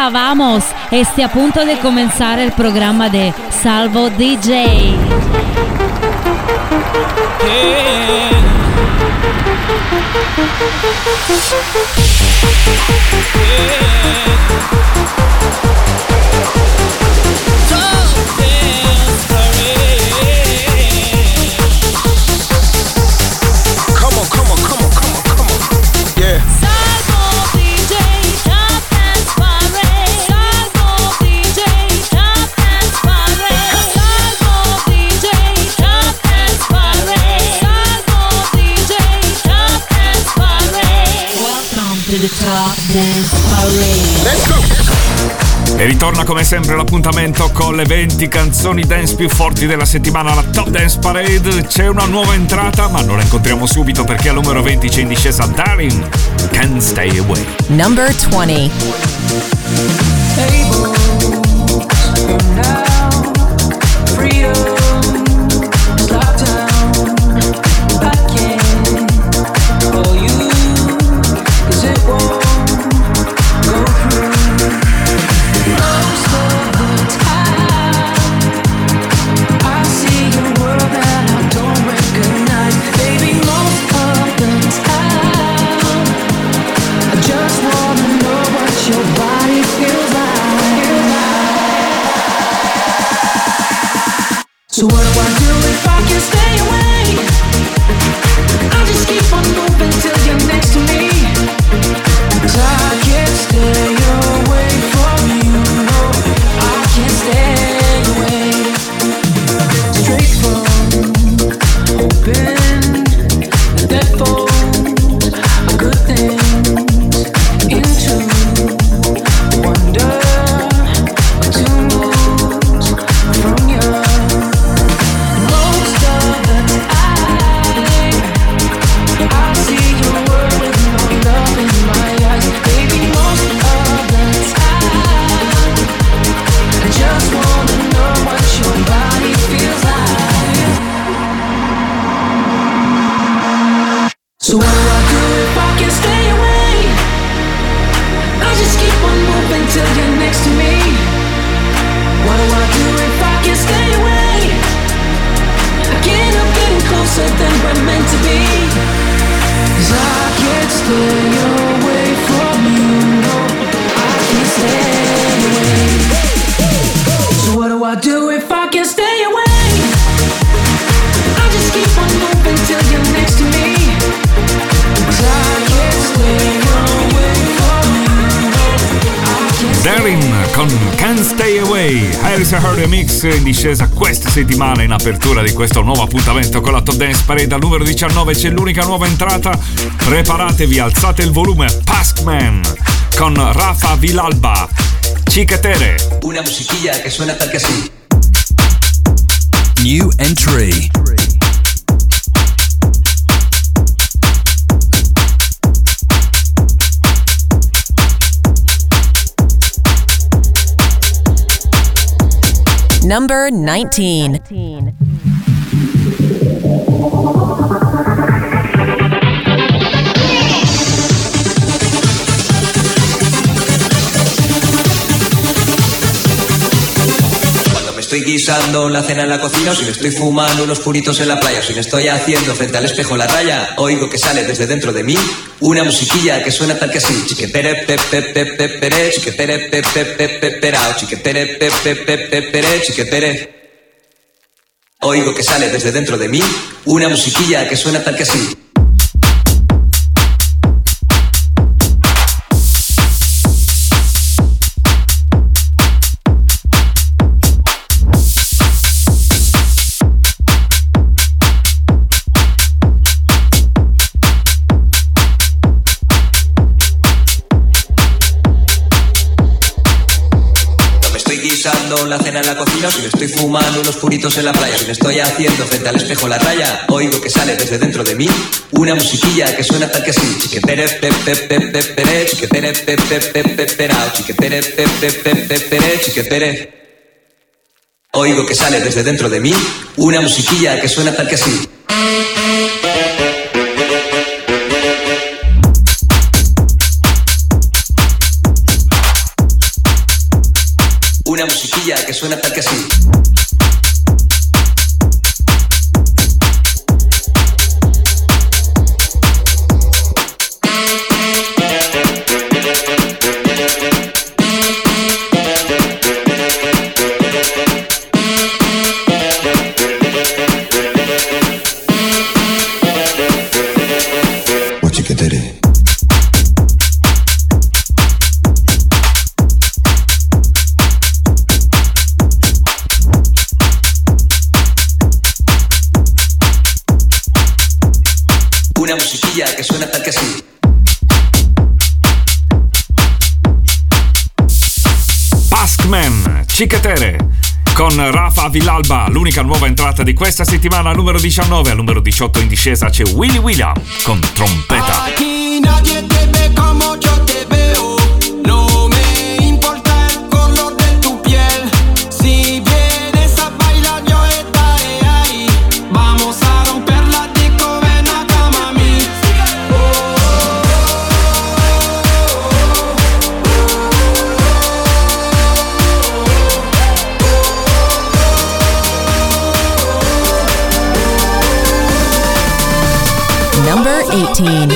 vamos. Este a punto de comenzar el programa de Salvo DJ. E ritorna come sempre l'appuntamento con le 20 canzoni dance più forti della settimana, la Top Dance Parade. C'è una nuova entrata, ma non la incontriamo subito perché al numero 20 c'è in discesa Darin, Can't Stay Away. Number 20. So what do I do if I can stay away? I just keep on moving till you're next to me. 'Cause I can't stay away from you, no, I can't stay away. Straight from open that folds a good things into wonder to move from you. So what do I do if I can stay away? I just keep on moving till you're next to me. What do I do if I can stay away? I can't help getting closer than we're meant to be. 'Cause I can't stay away from you, no, I can't stay away. So what do I do if I can stay away? I just keep on moving till you're next to me. Darin con Can't Stay Away, Harris & Her Remix in discesa questa settimana in apertura di questo nuovo appuntamento con la Top Dance Parade. Al numero 19 c'è l'unica nuova entrata, preparatevi, alzate il volume, Paskman con Rafa Vilalba, Chiquetere. Una musiquilla que suena tal que así. New entry. Number 19. Estoy guisando la cena en la cocina, o si me estoy fumando unos puritos en la playa, o si me estoy haciendo frente al espejo la raya, oigo que sale desde dentro de mí una musiquilla que suena tal que así. Chiquetere pe pe pe pe pere, chiquetere pe pe pe pe perao, chiquetere pe pe pe pe pere, chiquetere. Oigo que sale desde dentro de mí una musiquilla que suena tal que así. La cena en la cocina, o si me estoy fumando unos puritos en la playa, o si me estoy haciendo frente al espejo la raya, oigo que sale desde dentro de mí una musiquilla que suena tal que así. Chiquetere pe pe pe pe pere, chiquetere pe pe pe pe perao, chiquetere pe pe pe pe pere, chiquetere. Oigo que sale desde dentro de mí una musiquilla que suena tal que así. Una musiquilla que suena tal que así. Una musiquilla que suena tal que así. Paskman, Cicatere con Rafa Villalba, l'unica nuova entrata di questa settimana, numero 19. Al numero 18 in discesa c'è Willy William con Trompeta. Aquí nadie te ve como yo te veo. No me importa el color de tu piel. Si vienes a bailar yo estaré ahí. Vamos a romper la disco, ven acá mami. Number 18.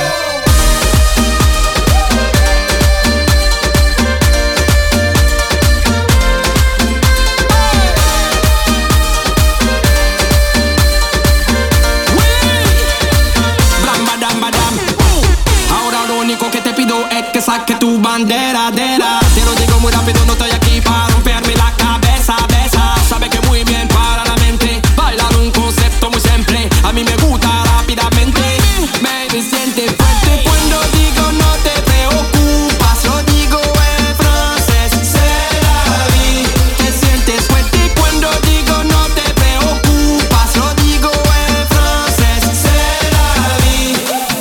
Ahora lo único que te pido es que saque tu bandera. Te lo digo muy rápido, no estoy aquí para romperme la cabeza. Sabe que muy bien para la mente. Bailar un concepto muy simple. A mí me gusta rápidamente. Me siente fuerte cuando digo no te preocupas. Lo digo en francés, c'est la vie. Te sientes fuerte cuando digo no te preocupas. Lo digo en francés, c'est la vie.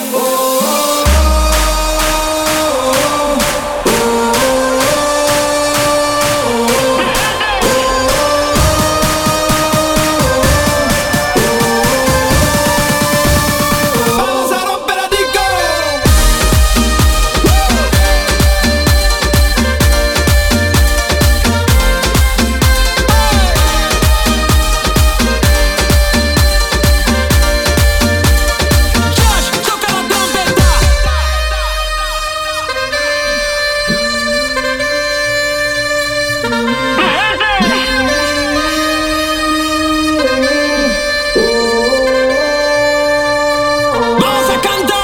Vamos a romper la disco. Josh, toca la trompeta. Vamos a cantar.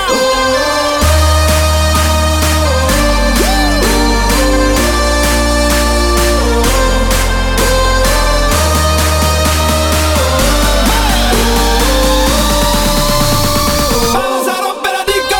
Vamos a romper la disco.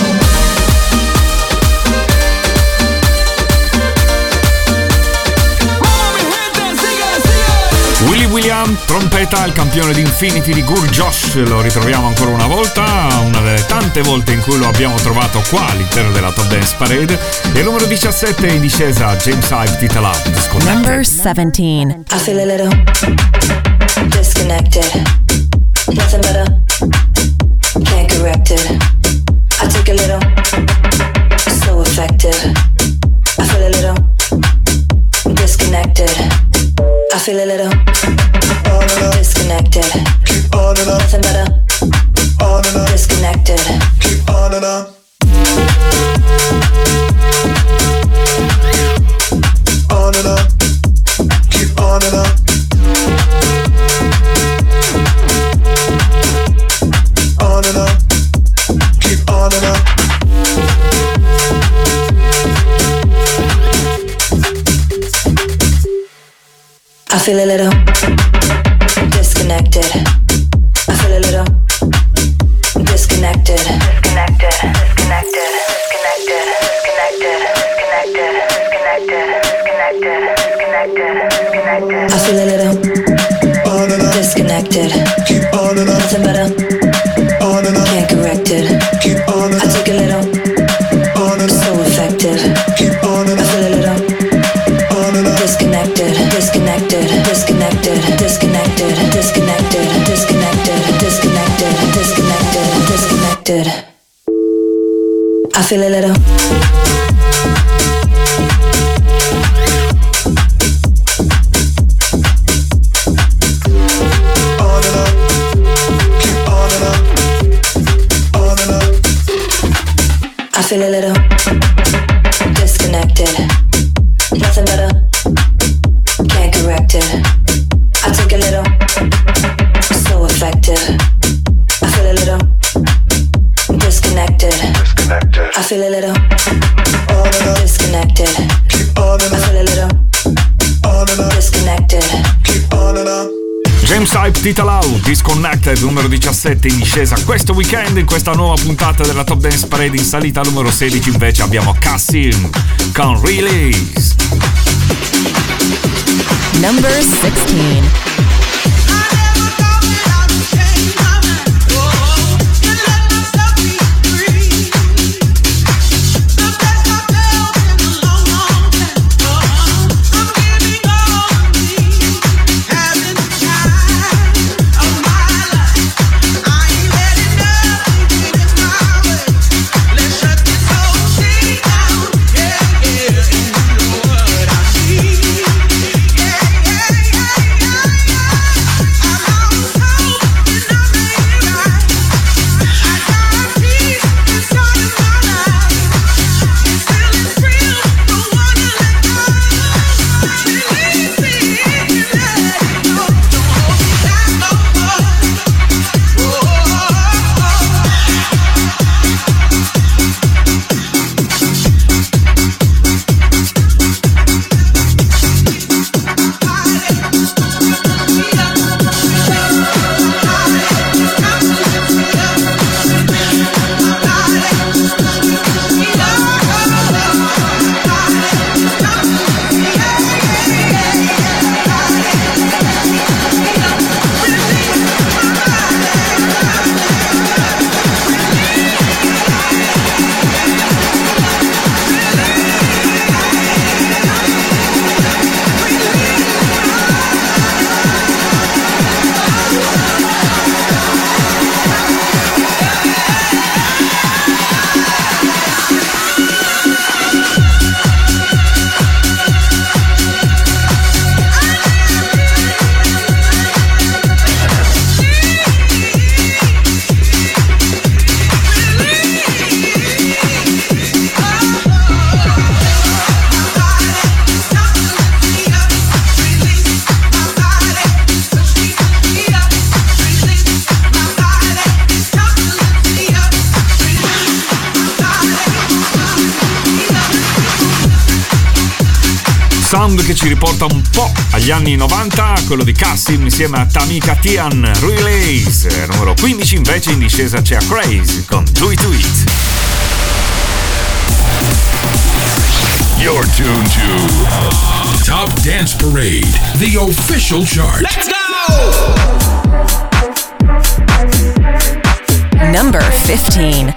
Vamos mi gente, sigue. Willy William, Trompeta, il campione di Infinity di Gur Josh, lo ritroviamo ancora una volta, una delle tante volte in cui lo abbiamo trovato qua all'interno della Top Dance Parade. E il numero 17 in discesa James Hype, Tita Love, Disconnected. Number 17. I feel a little disconnected. Nothing better, can't correct it. I take a little, so effective. I feel a little disconnected. I feel a little disconnected. Nothing better, disconnected. I feel a little disconnected. I feel a little disconnected. Disconnected. Disconnected. Disconnected. Disconnected. Disconnected. Disconnected. Disconnected. I feel a little disconnected. Nothing better. Can't correct it. I take a little, so effective. I feel a little disconnected. Disconnected. Disconnected. Disconnected. Disconnected. Disconnected. Disconnected. Disconnected. Disconnected. I feel a little Tita Lau, Disconnected, numero 17 in discesa questo weekend. In questa nuova puntata della Top Dance Parade in salita numero 16 invece abbiamo Cassim con Release. Number 16. Sound che ci riporta un po' agli anni 90, quello di Cassim insieme a Tamika Tian, Release. Numero 15 invece in discesa c'è Craze con Do It To It. You're tuned to Top Dance Parade, the official chart. Let's go! Number 15.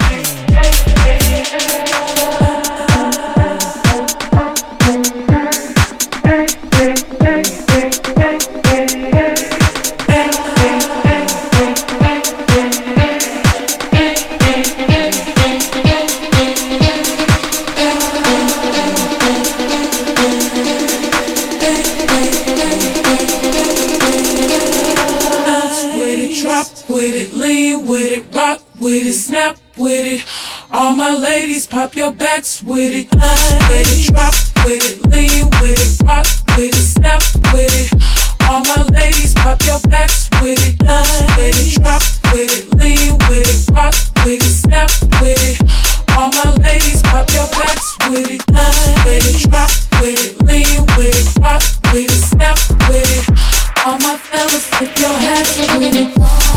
Snap with it, all my ladies pop your backs with it. With it, drop with it, lean with it, rock with it, snap with it. All my ladies pop your backs with it. With it, drop with it, lean with it, rock with it, snap with it. All my ladies pop your backs with it. With it, drop with it, lean with it, rock with it, snap with it. All my fellas flip your hats with it.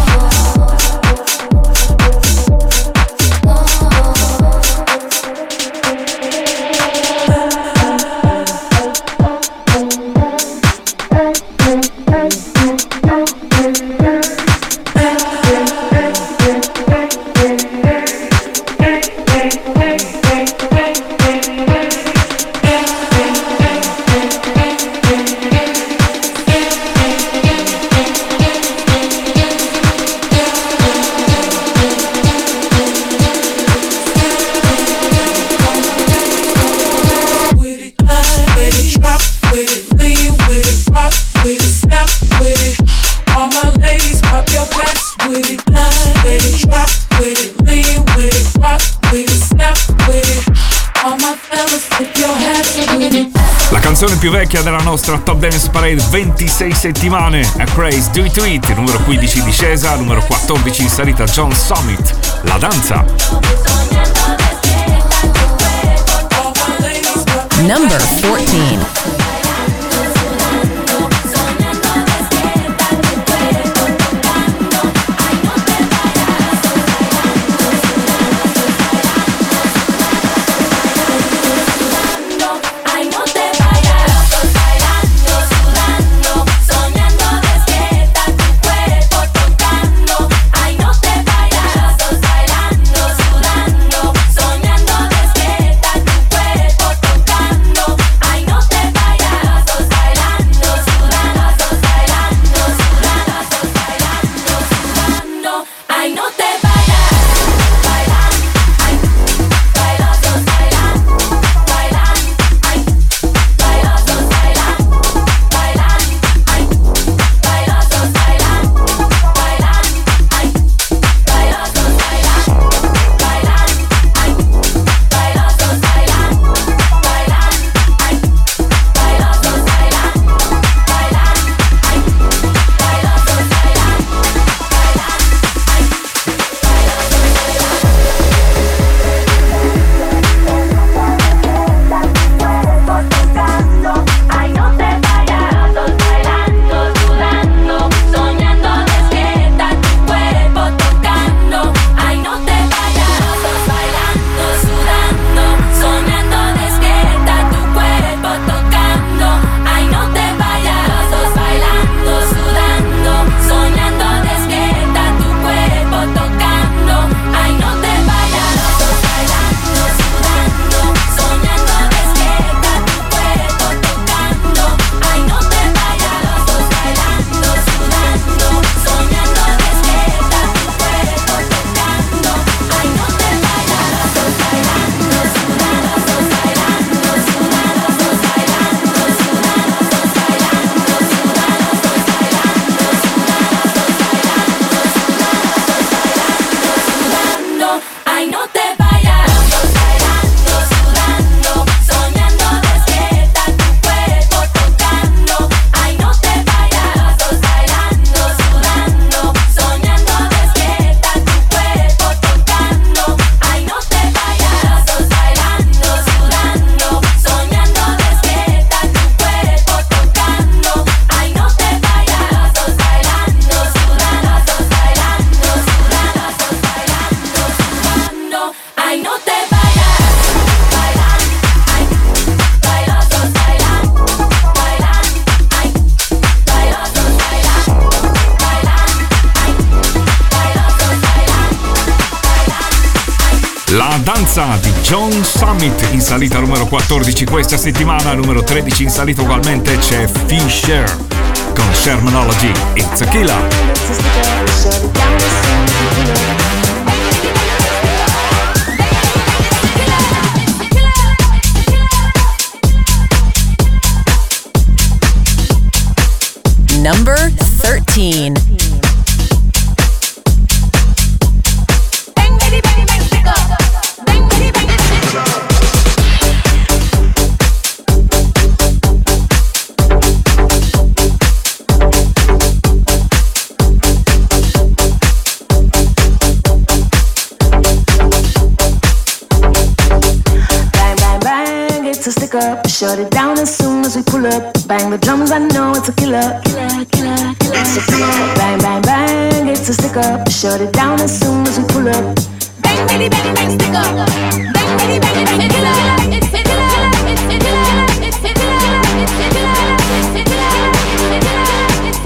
Più vecchia della nostra Top Dance Parade, 26 settimane, a Craze, Do It To It, numero 15 in discesa, numero 14 in salita John Summit, La Danza. Number 14. danza di John Summit in salita numero 14 questa settimana, numero 13 in salita ugualmente c'è Fisher con Shermanology, It's a Killer. Number 13. It's a stick up, shut it down as soon as we pull up. Bang the drums, I know it's a killer. It's a killer. Bang, bang, bang, it's a stick up, shut it down as soon as we pull up. Bang, bang, bang, bang, stick up. Bang, bang, bang, it's a killer. It's a killer. It's a killer. It's a killer. It's a killer. It's a killer. It's a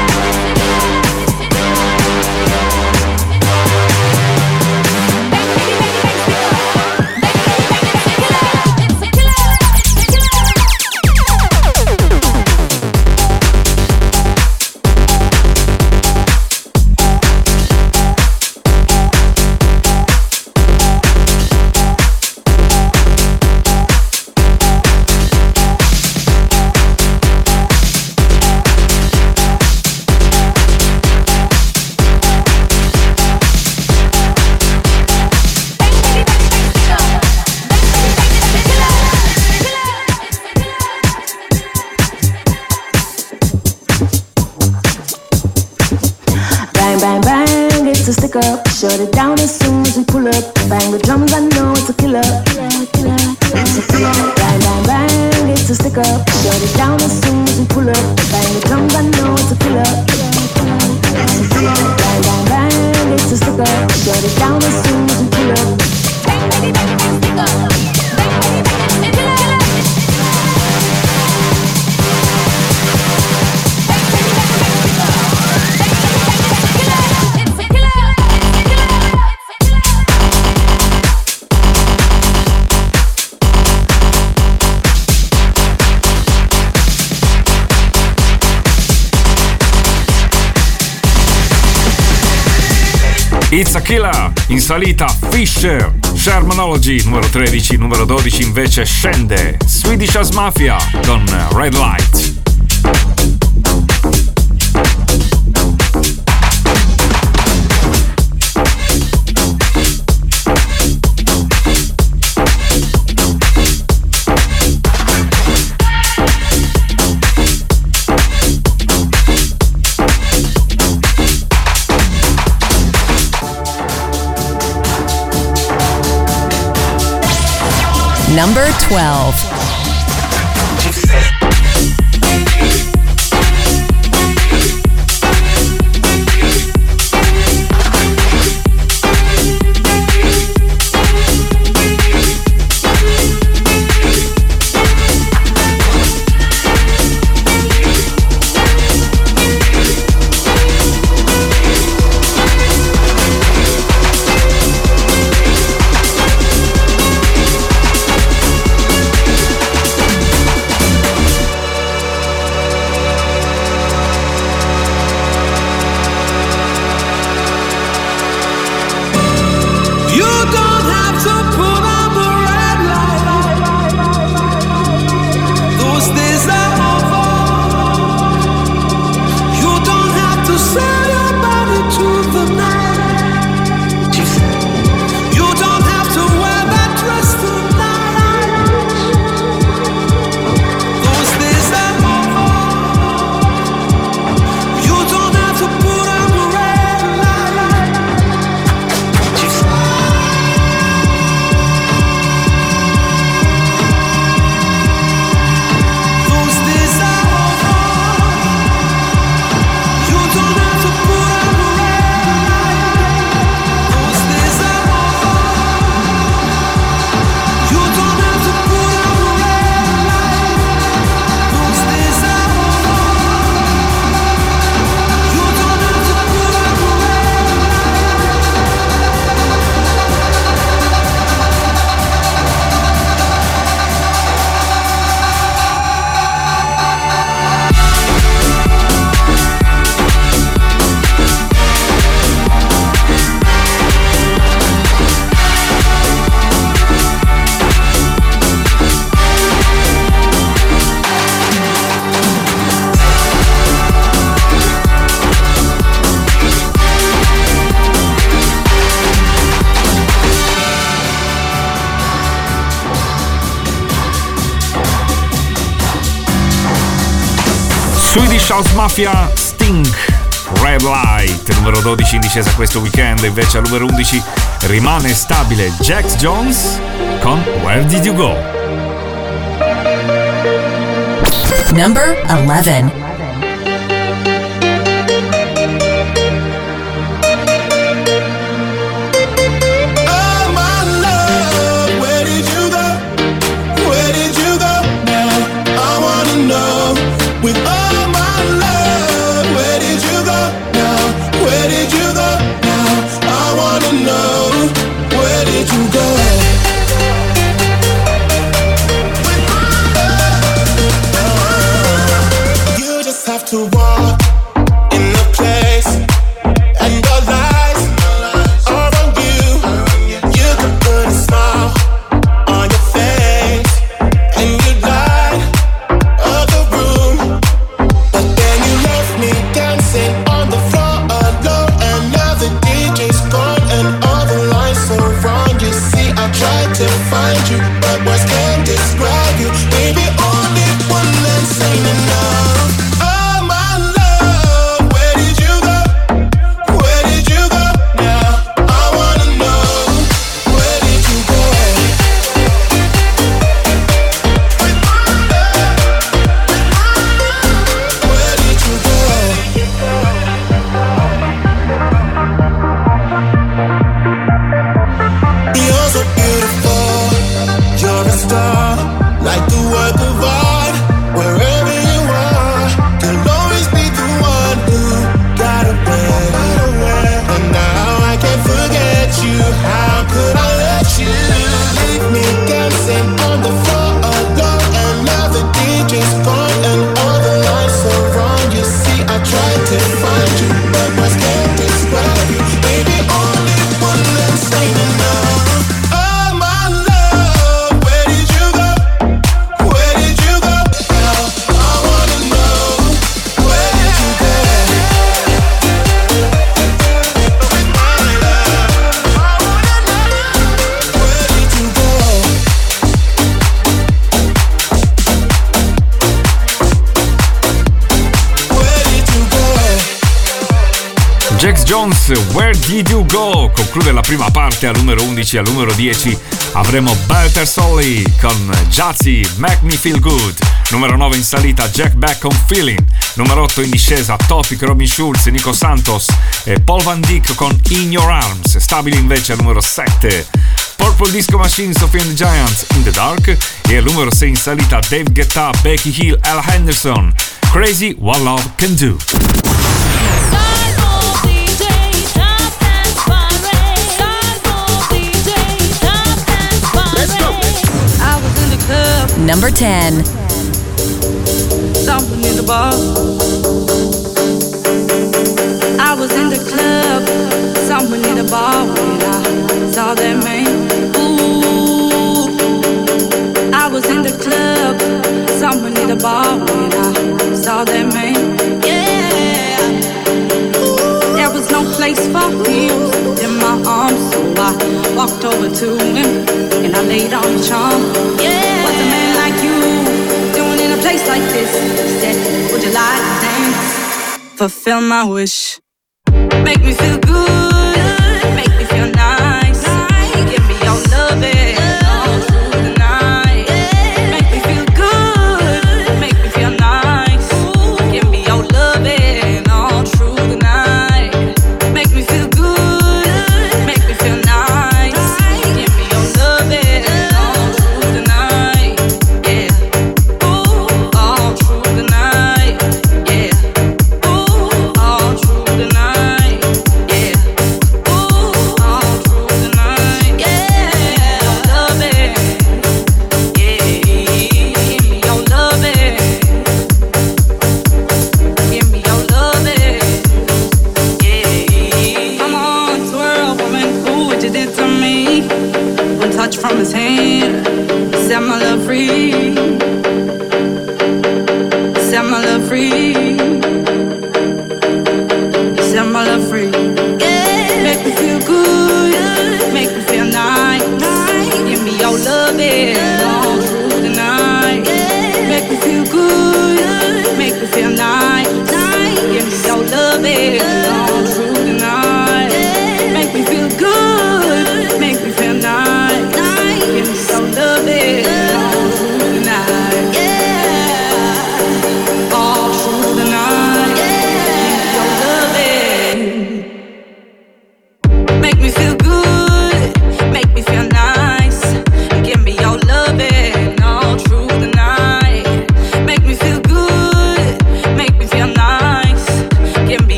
shut it down as soon as we pull up. Bang the drums, I know it's a killer. It's a killer. Bang, bang, bang, it's a stick up. Shut it down as soon as we pull up. Bang the drums, I know it's a killer. It's a killer. Bang, bang, bang, it's a stick up. Shut it down as soon as we pull up. Bang, bang, bang, stick up. Bang, bang, bang, stick up. It's a Killer, in salita Fisher, Shermanology, numero 13, numero 12 invece scende Swedish House Mafia con Red Light. Number 12. Swedish House Mafia, Sting, Red Light, numero 12 in discesa questo weekend. Invece al numero 11 rimane stabile Jax Jones con Where Did You Go? Number 11. To walk in the place, and the lights are on you. You can put a smile on your face, and you light up the room. But then you left me dancing on the floor alone, and now the DJ's gone, and all the lights are wrong. You see, I tried to find you, but words can't describe you. Baby, only one that's ain't enough. Jax Jones, Where Did You Go? Conclude la prima parte. al numero 11. Al numero 10 avremo Better Solly con Jazzy, Make Me Feel Good. Numero 9 in salita, Jack Beck con Feeling. Numero 8 in discesa, Topic, Robin Schulz, Nico Santos e Paul Van Dyk con In Your Arms. Stabili invece al numero 7 Purple Disco Machine, Sophie and the Giants, In the Dark. E al numero 6 in salita, Dave Guetta, Becky Hill, Al Henderson, Crazy What Love Can Do. Number 10. Something in the bar. I was in the club. Something in the bar when I saw that man. Ooh. I was in the club. Something in the bar when I saw that man. Yeah. There was no place for him in my arms, so I walked over to him and I laid on the charm. Yeah. What's a man like you doing in a place like this? He said, would you like to dance? Fulfill my wish. Make me feel good, make me feel nice. Give me your loving all through the night. Make me feel good, make me feel nice. Give me your loving all through the night. Make me feel good, make me feel nice. Give me your loving all through the night. Yeah, ooh, all through the night. Yeah, ooh, all through the night. Yeah, ooh, all through the night. Yeah, loving. Yeah, give me your loving. Give me your loving. Yeah, come on, twirl, woman, ooh, what you did to me. One touch from his hand, set my love free. Set my love free. Set my love free. Yeah. Make me feel good, make me feel nice. Give me your loving all through the night. Make me feel good, make me feel nice.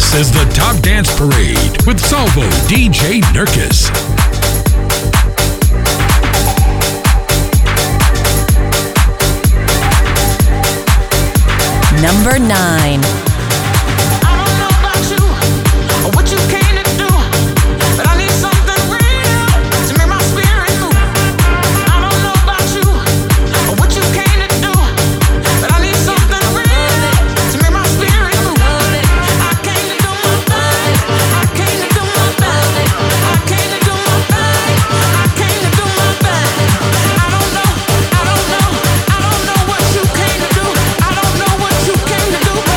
This is the Top Dance Parade with Salvo DJ Nurkis. Number 9. I don't know what you came to do.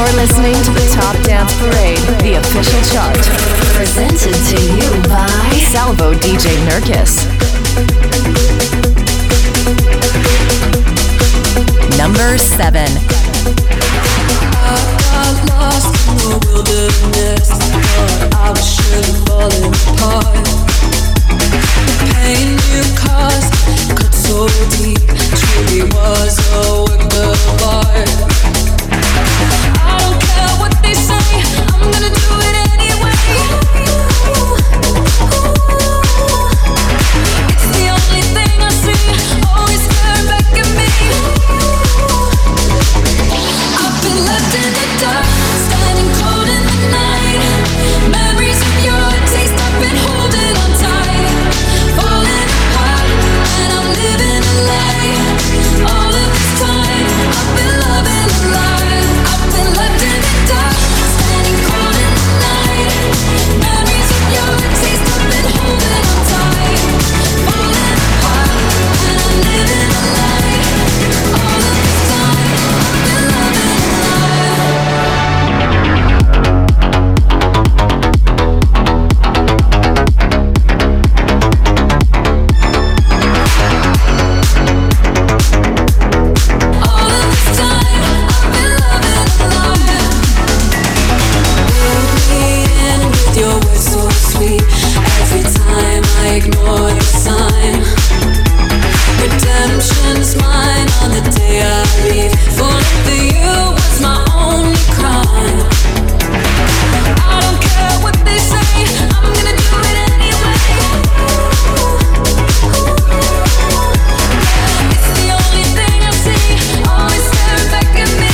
You're listening to the Top Dance Parade, the official chart. Presented to you by Salvo DJ Nurkis. Number 7. I got lost in the wilderness, but I was surely falling apart. The pain you caused cut so deep, truly was a work of art. I don't care what they say, I'm gonna do it anyway. It's the only thing I see, always staring back at me. I've been left in the dark, standing cold in the night. Memories of your taste, I've been holding on tight. Falling apart, and I'm living a lie. All of this time, I've been loving a lie. I've been left in the dark, standing cold in the night. Memories of your taste, I've been holding on tight. Falling apart, and I'm living a lie. All of this time, I've been loving a ignore your sign. Redemption's mine on the day I leave. Falling for you was my only crime. I don't care what they say, I'm gonna do it anyway. It's the only thing I see, always staring back at me.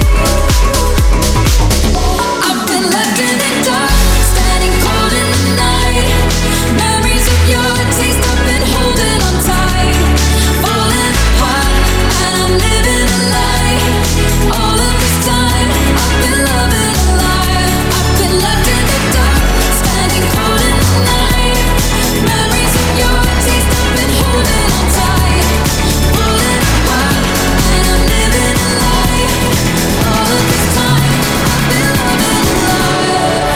I've been left in the dark, standing cold in the night. Memories of your taste, I've been holding on tight. Falling apart, and I'm living a lie. All of this time, I've been loving a lie. I've been left in the dark, standing cold in the night. Memories of your taste, I've been holding on tight. Falling apart, and I'm living a lie. All of this time, I've been loving a lie.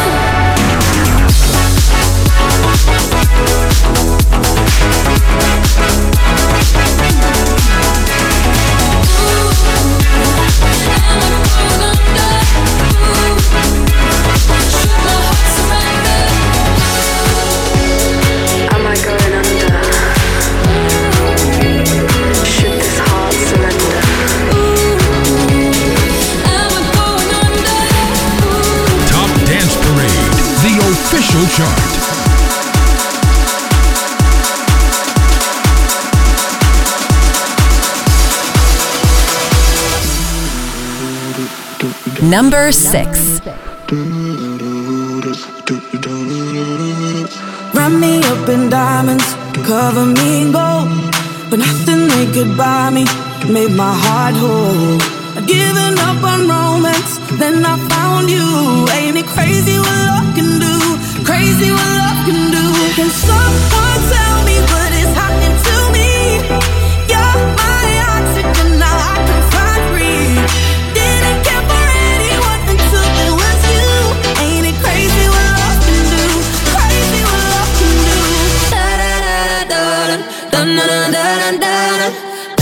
Am I going under? Should this heart surrender? Top Dance Parade, the official chart. Number 6. Wrap me up in diamonds, cover me in gold, but nothing they could buy me made my heart whole. I'd given up on romance, then I found you. Ain't it crazy what love can do? Crazy what love can do. Can someone tell me what is happening to me? You're my oxygen, now I can find breathe. Didn't care for anyone until it was you. Ain't it crazy what love can do? Crazy what love can do. Da da da da da da da da da da.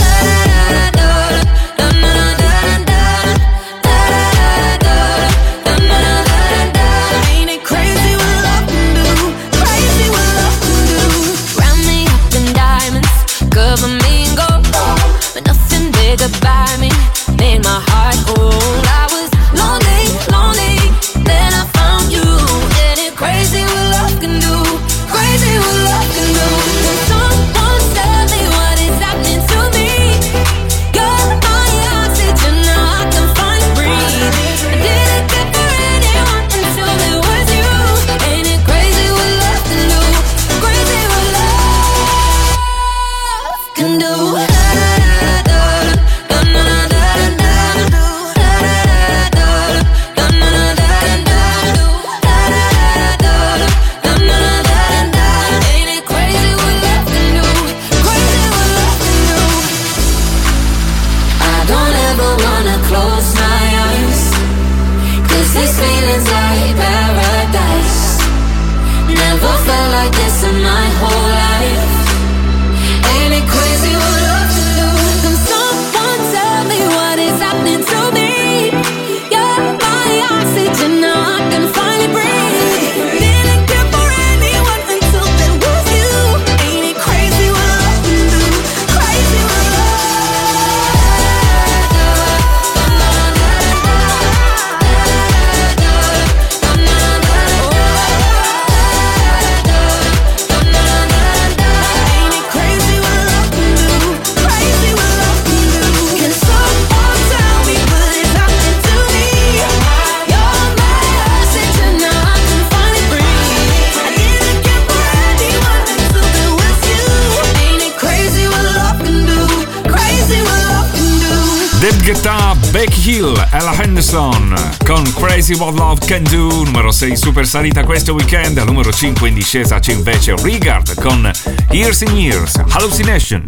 Ain't it crazy what love can do? Crazy what love can do. Wrap me up in diamonds, cover me in gold, but nothing they could buy me made my heart whole. I was lonely, lonely, then I found you. Ain't it crazy what love can do? Crazy what love can do. Can someone tell me what is happening to me? You're my oxygen, now I can find breathe. I didn't care for anyone until it was you. Ain't it crazy what love can do? Crazy what love can do. Da da da da da da da da da. David Guetta, Becky Hill, Ella Henderson con Crazy What Love Can Do, numero 6 super salita questo weekend. Al numero 5 in discesa c'è invece Regard con Years and Years, Hallucination.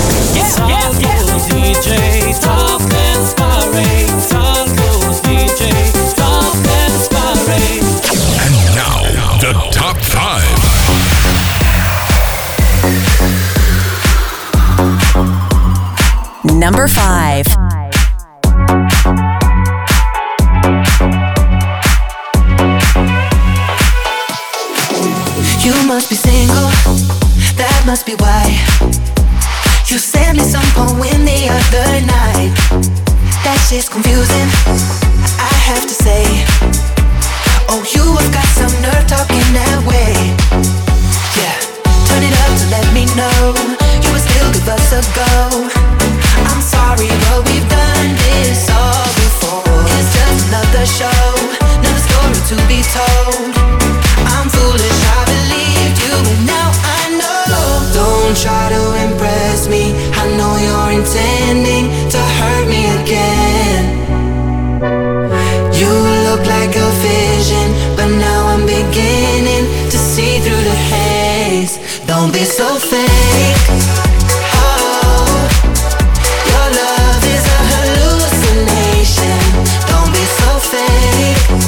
And now, the top 5. Number 5. You must be single, that must be why you sent me some poem the other night. That shit's confusing, I have to say. Oh, you have got some nerve talking that way. Yeah, turn it up to let me know you would still give us a go. I'm sorry, but we've done this all before. It's just another show, another story to be told. I'm foolish, I believed you, but now I know. Don't try to impress me, I know you're intending to hurt me again. You look like a vision, but now I'm beginning to see through the haze. Don't be so fake. Oh, your love is a hallucination. Don't be so fake.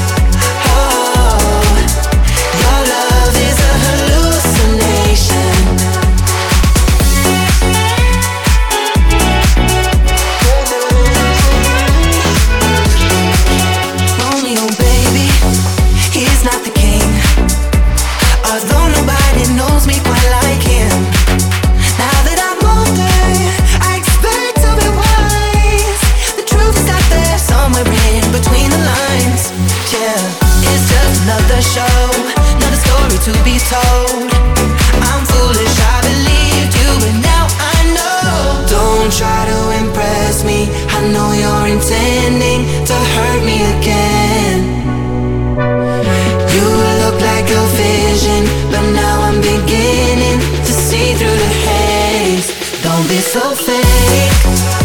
Another show, another story to be told. I'm foolish, I believed you, but now I know. Don't try to impress me, I know you're intending to hurt me again. You look like a vision, but now I'm beginning to see through the haze. Don't be so fake.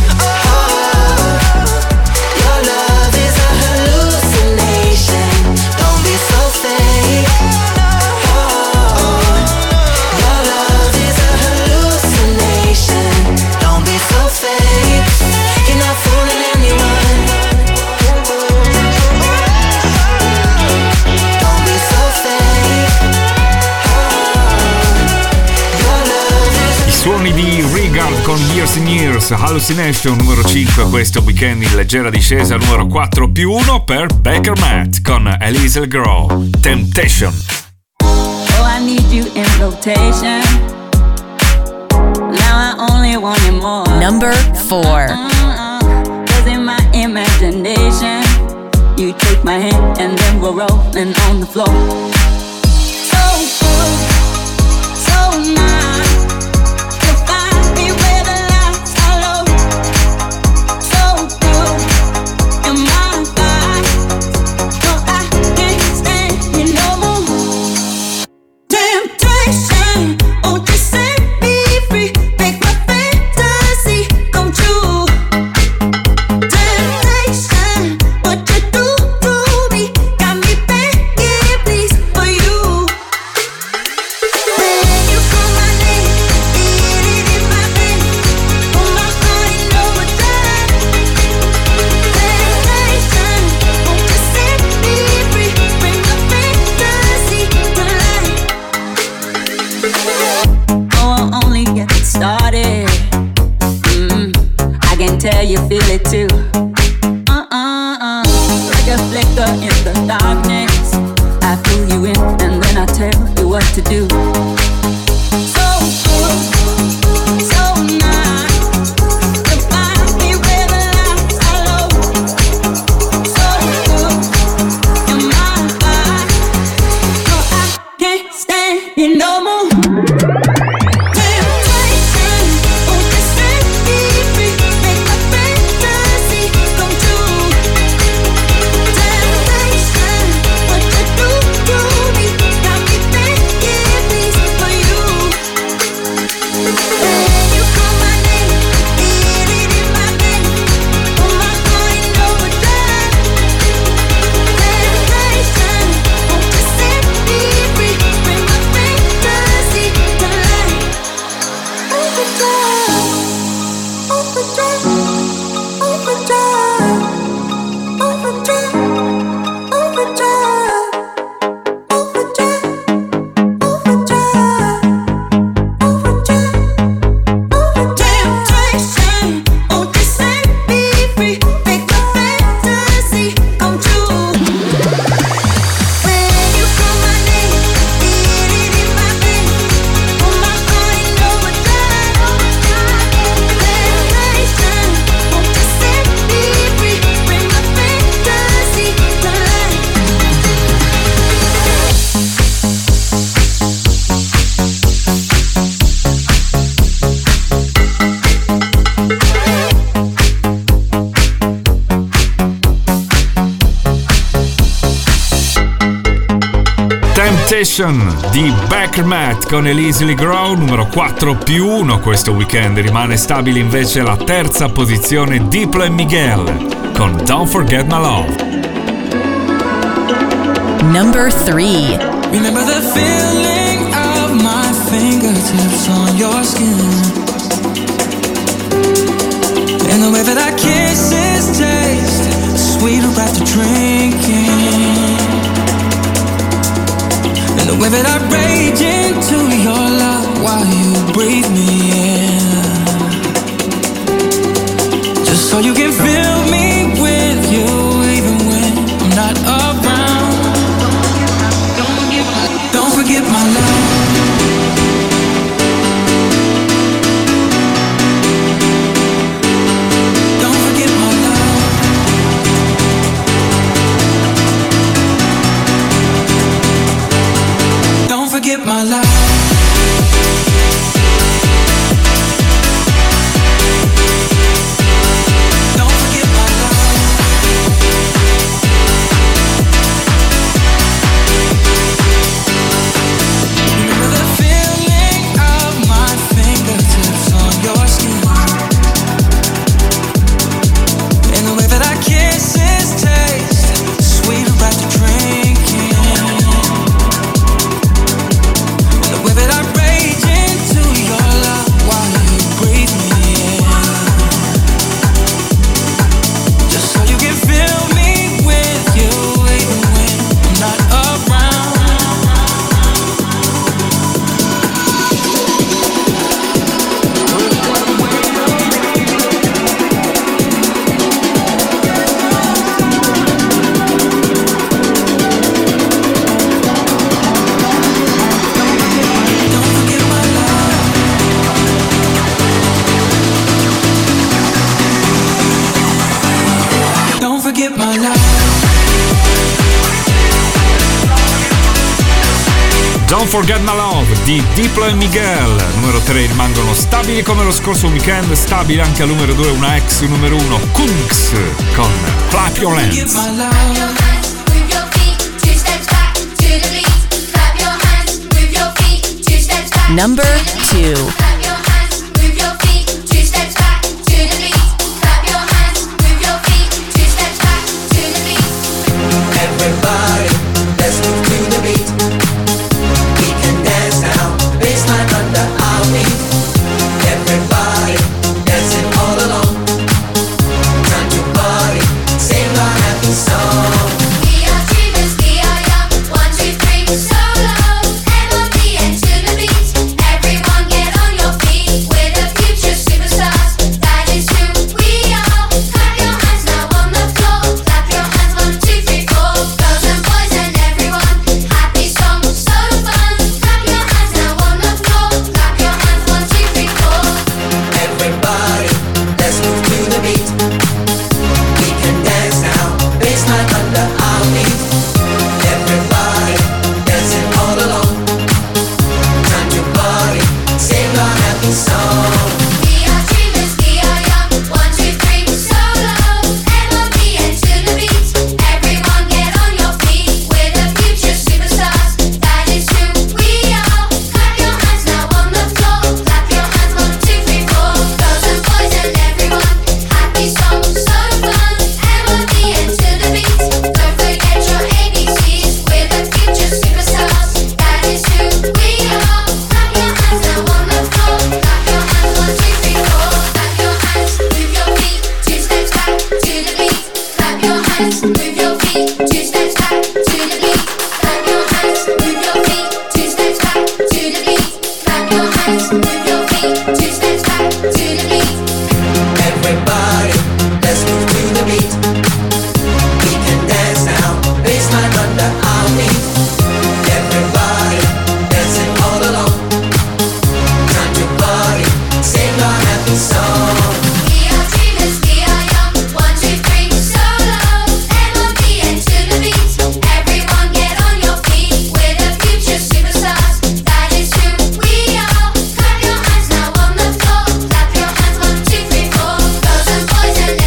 Suoni di Regard con Years and Years, Hallucination, numero 5 questo weekend in leggera discesa, numero 4 più 1 per Baker Matt con Elise Grow, Temptation. Oh, I need you in rotation. Now I only want you more. Number 4. Cause in my imagination, you take my hand and then we're rolling on the floor. So good, so nice. You feel it too. Like a flicker in the darkness. I pull you in and then I tell you what to do. So good, so nice. The body where the lights are low. So good, in my life. No, I can't stand you no more. Temptation, won't you set me free? Make my fantasy Sensation di Beckermat con Easily Grow, numero 4+1 questo weekend. Rimane stabile invece la terza posizione Diplo e Miguel con Don't Forget My Love. Number 3. Remember the feeling of my fingertips on your skin, and the way that our kisses taste sweeter after drinking, and the way that I rage into your love while you breathe me in, just so you can fill me with you even when I'm not around. Don't forget my love. Forget my life. Don't forget my life. Remember the feeling of my fingertips on your skin, and the way that our kisses taste sweeter after drinking. Don't Forget My Love di Diplo e Miguel. Numero 3 rimangono stabili come lo scorso weekend, stabile anche al numero 2 una ex numero 1 Kungs con Clap Your Hands. Number 2.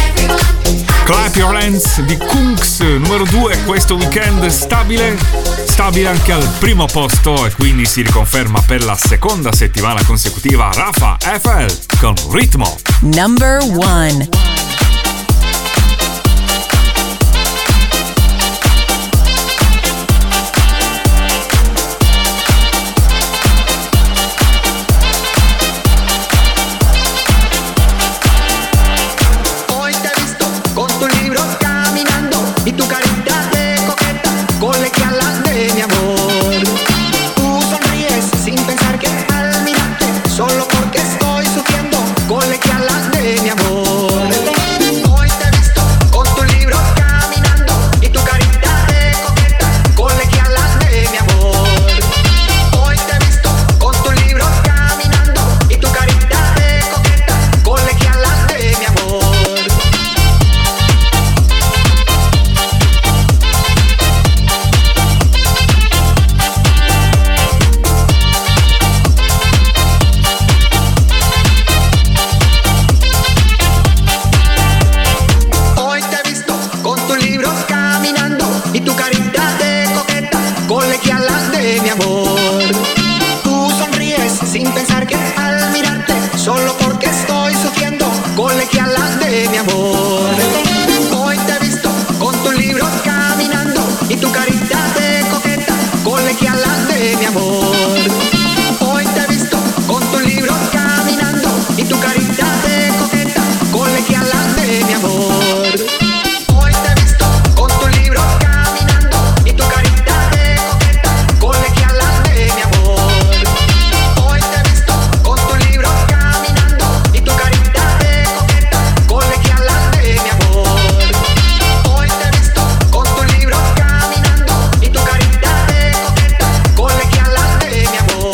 Di Kungs, numero 2 questo weekend, stabile stabile anche al primo posto e quindi si riconferma per la seconda settimana consecutiva Rafa FL con Ritmo. Number 1. Y tu carita de coqueta, colegiala de mi amor. Tú sonríes sin pensar que al mirarte, solo porque estoy sufriendo, colegiala de mi amor. Hoy te he visto con tu libro caminando y tu carita de coqueta, colegiala de mi amor. Hoy te he visto con tu libro caminando y tu carita de coqueta, colegiala de mi amor. Y tu carita de coqueta, colegiala de mi amor. Tú sonríes sin pensar que al mirarte, solo porque estoy sufriendo, colegiala de mi amor. Hoy te he visto con tu libro caminando y tu carita de coqueta, colegiala de mi amor. Hoy te he visto con tu libro caminando y tu carita de coqueta, colegiala de mi amor. Hoy te he visto con tu libro y tu carita de coqueta, colegiala de mi amor. Hoy te he visto con tu libro caminando y tu carita de coqueta, colegiala de mi amor. Hoy te he visto con tu libro caminando y tu carita de coqueta, colegiala de mi amor.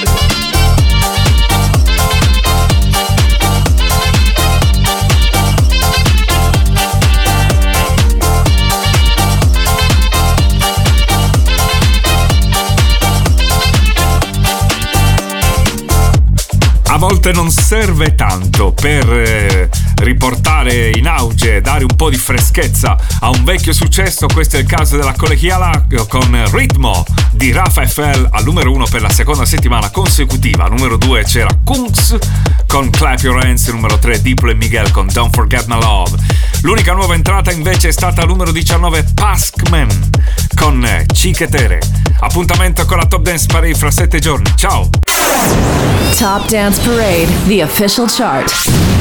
A volte non serve tanto per riportare in auge, dare un po' di freschezza a un vecchio successo. Questo è il caso della colegiala con Ritmo di Rafa FL al numero 1 per la seconda settimana consecutiva. Numero 2 c'era Kungs con Clap Your Hands, numero 3 Diplo e Miguel con Don't Forget My Love. L'unica nuova entrata invece è stata al numero 19 Paskman con Cichetere. Appuntamento con la Top Dance Parade fra 7 giorni. Ciao! Top Dance Parade, the official chart.